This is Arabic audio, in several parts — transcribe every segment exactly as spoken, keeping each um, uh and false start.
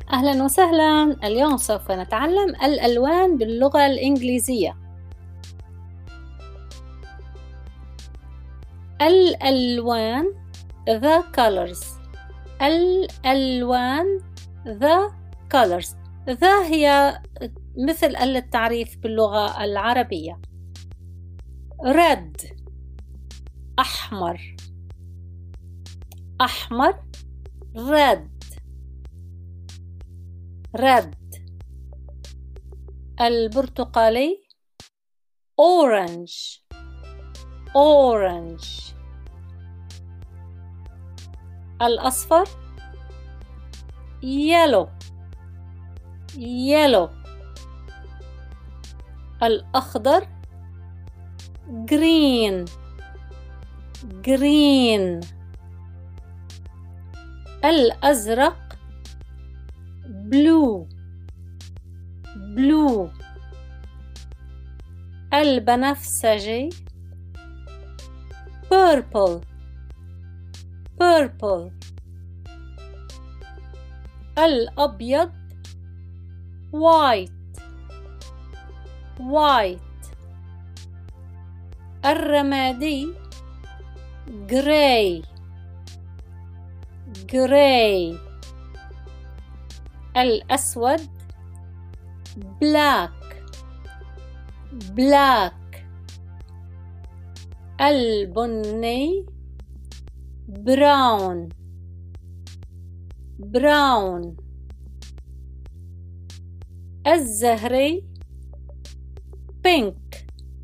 أهلا وسهلا. اليوم سوف نتعلم الألوان باللغة الإنجليزية. الألوان the colors. الألوان the colors. the هي مثل ال التعريف باللغة العربية. red أحمر، أحمر red red. البرتقالي orange orange. الأصفر yellow yellow. الأخضر green green. الأزرق blue blue. البنفسجي purple purple. الأبيض white white. الرمادي gray gray. الأسود black black. البني brown brown. الزهري pink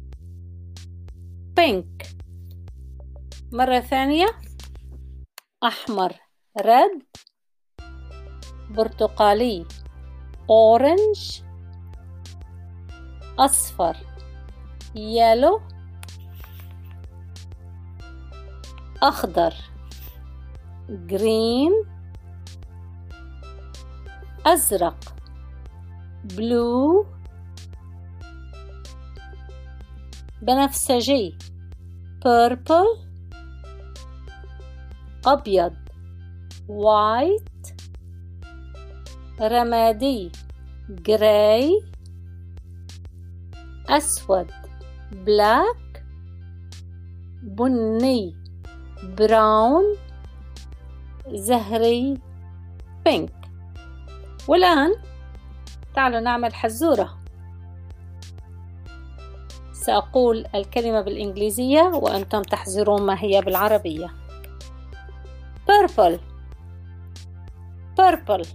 pink. مرة ثانية، أحمر red، برتقالي orange، أصفر yellow، أخضر green، أزرق blue، بنفسجي purple، أبيض white، رمادي gray، أسود black، بني brown، زهري pink. والآن تعالوا نعمل حزورة. سأقول الكلمة بالإنجليزية وأنتم تحزرون ما هي بالعربية. purple purple.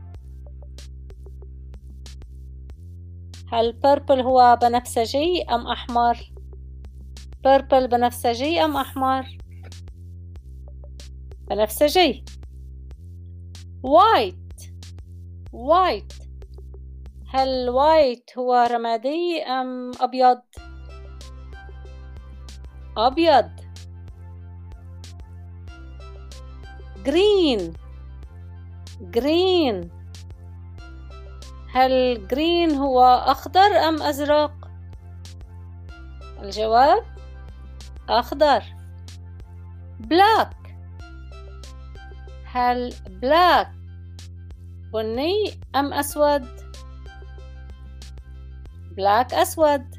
هل purple هو بنفسجي أم أحمر؟ purple بنفسجي أم أحمر؟ بنفسجي. white white. هل white هو رمادي أم أبيض؟ أبيض. green green. هل green هو أخضر أم أزرق؟ الجواب أخضر. black. هل black بني أم أسود؟ black أسود.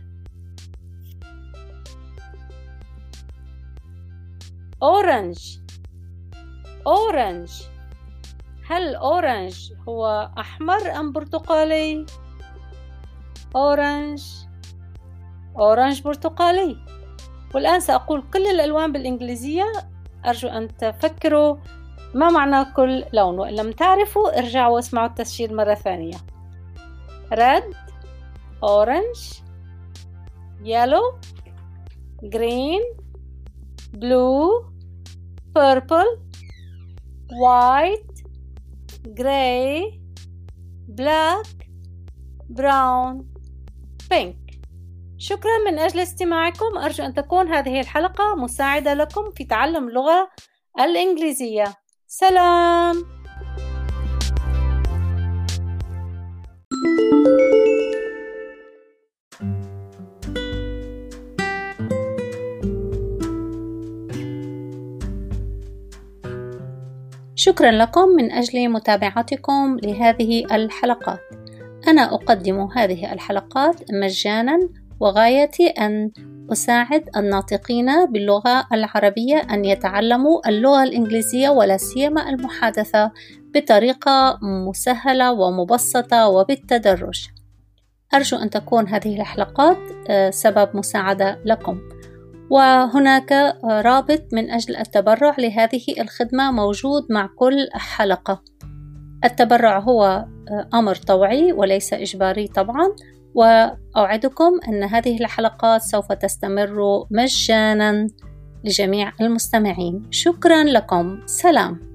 orange orange. هل orange هو أحمر أم برتقالي؟ orange orange برتقالي. والآن سأقول كل الألوان بالإنجليزية، أرجو أن تفكروا ما معنى كل لون، وإن لم تعرفوا ارجعوا واسمعوا التسجيل مرة ثانية. red orange yellow green blue purple white gray black brown pink. شكرا من أجل استماعكم. أرجو أن تكون هذه الحلقة مساعدة لكم في تعلم اللغة الإنجليزية. سلام. شكرا لكم من أجل متابعتكم لهذه الحلقات. أنا أقدم هذه الحلقات مجانا، وغايتي أن أساعد الناطقين باللغة العربية أن يتعلموا اللغة الإنجليزية ولا سيما المحادثة بطريقة مسهلة ومبسطة وبالتدرج. أرجو أن تكون هذه الحلقات سبب مساعدة لكم. وهناك رابط من أجل التبرع لهذه الخدمة موجود مع كل حلقة. التبرع هو أمر طوعي وليس إجباري طبعا، وأوعدكم أن هذه الحلقات سوف تستمر مجانا لجميع المستمعين. شكرا لكم. سلام.